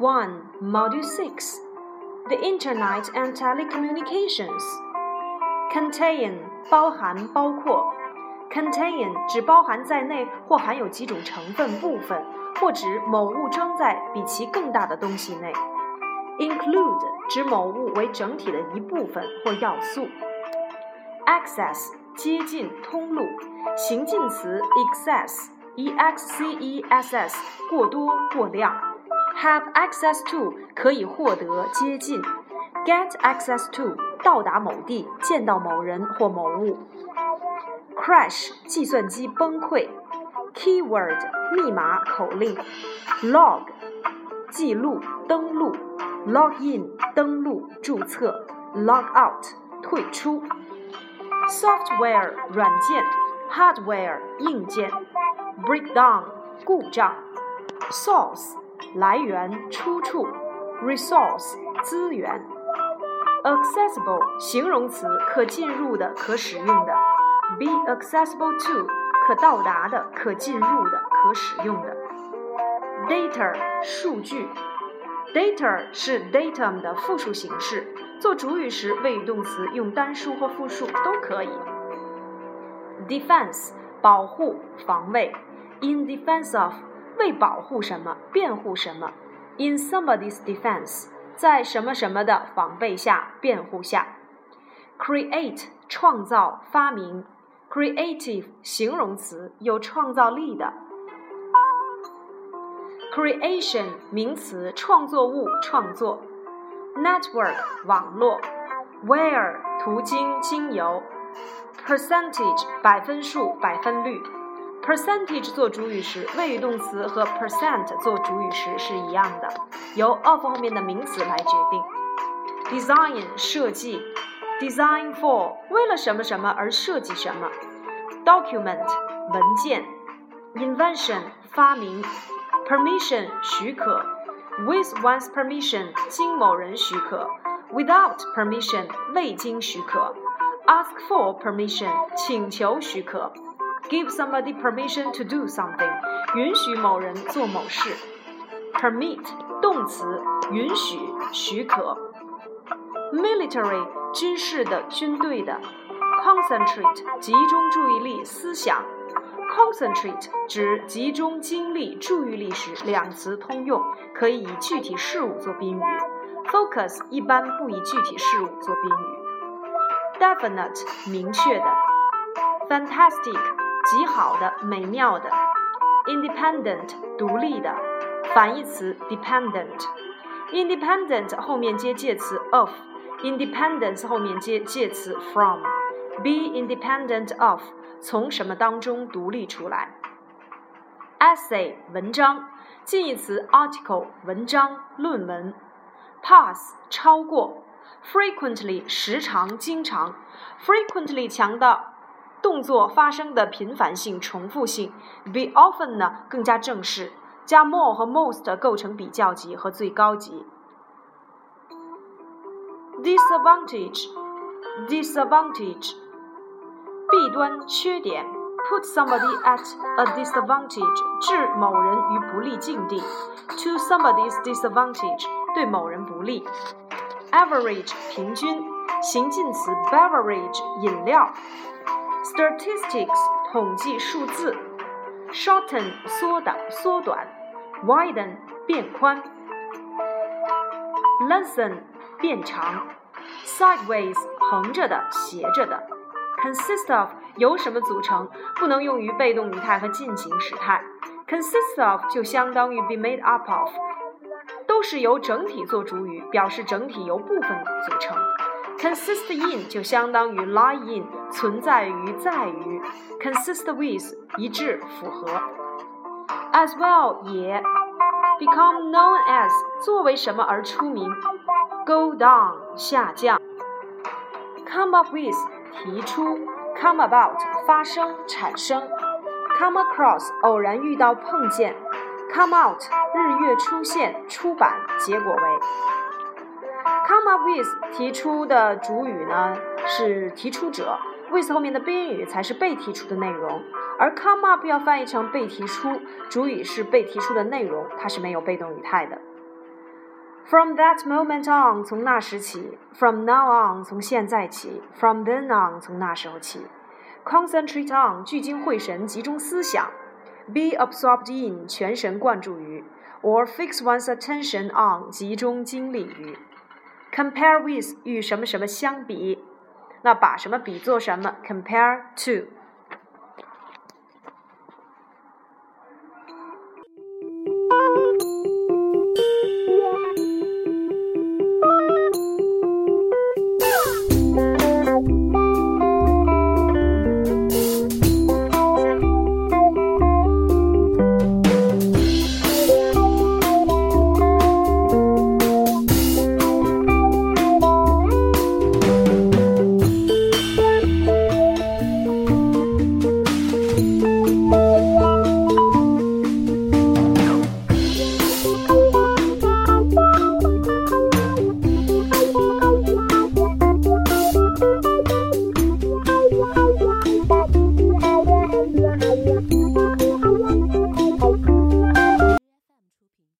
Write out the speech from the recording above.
1 Module 6 The Internet and Telecommunications Contain 包含包括 Contain 指包含在内或含有几种成分部分，或指某物装在比其更大的东西内。Include 指某物为整体的一部分或要素。Access 接近通路，形近词 excess EXCESS 过多过量。Have access to 可以获得接近。Get access to 到达某地，见到某人或某物。Crash 计算机崩溃。Keyword 密码口令。Log 记录登录。Log in 登录注册。Log out 退出。Software 软件。Hardware 硬件。Breakdown 故障。Source 来源出处。Resource 资源。Accessible 形容词可进入的可使用的。Be accessible to 可到达的可进入的可使用的。Data 数据。Data 是 datum 的复数形式，做主语时谓语动词用单数或复数都可以。Defense 保护防卫。In defense of 为保护什么辩护什么。In somebody's defense 在什么什么的防备下辩护下。Create 创造发明。Creative 形容词有创造力的。Creation 名词创作物创作。Network 网络。Where 途经经由。Percentage 百分数百分率。Percentage 做主语时，谓语动词和 percent 做主语时是一样的，由 of 后面的名词来决定。Design 设计。Design for 为了什么什么而设计什么。Document 文件。Invention 发明。Permission 许可。With one's permission 经某人许可。Without permission 未经许可。Ask for permission 请求许可。Give somebody permission to do something 允许某人做某事。Permit 动词允许许可。Military 军事的军队的。Concentrate 集中注意力思想。Concentrate 指集中精力注意力时，两词通用，可以以具体事物做宾语。Focus 一般不以具体事物做宾语。Definite 明确的。Fantastic 极好的美妙的。Independent 独立的。反义词 dependent。Independent 后面接介词 of。Independence 后面接介词 from。 Be independent of 从什么当中独立出来。Essay 文章。近义词 article 文章论文。Pass 超过。Frequently 时常经常。Frequently 强调动作发生的频繁性重复性。Be often 呢更加正式，加 more 和 most 构成比较级和最高级。Disadvantage 弊端缺点。Put somebody at a disadvantage 置某人于不利境地。To somebody's disadvantage 对某人不利。Average 平均。形近词 beverage 饮料。Statistics 统计数字。Shorten 缩短。Widen 变宽。Lengthen 变长。Sideways 横着的斜着的。Consist of 由什么组成，不能用于被动语态和进行时态。Consist of 就相当于 be made up of， 都是由整体做主语，表示整体由部分组成。Consist in 就相当于 lie in， 存在于在于。Consist with 一致符合。As well 也。Become known as 作为什么而出名。Go down 下降。Come up with 提出。Come about 发生产生。Come across 偶然遇到碰见。Come out 日月出现出版结果为。Come up with 提出的主语呢是提出者， with 后面的宾语才是被提出的内容，而 come up 要翻译成被提出，主语是被提出的内容，它是没有被动语态的。 From that moment on， 从那时起 ；From now on， 从现在起 ；From then on， 从那时候起。Concentrate on， 聚精会神，集中思想。Be absorbed in， 全神贯注于。Or fix one's attention on， 集中精力于。Compare with， 与什么什么相比。那把什么比作什么 ？Compare to。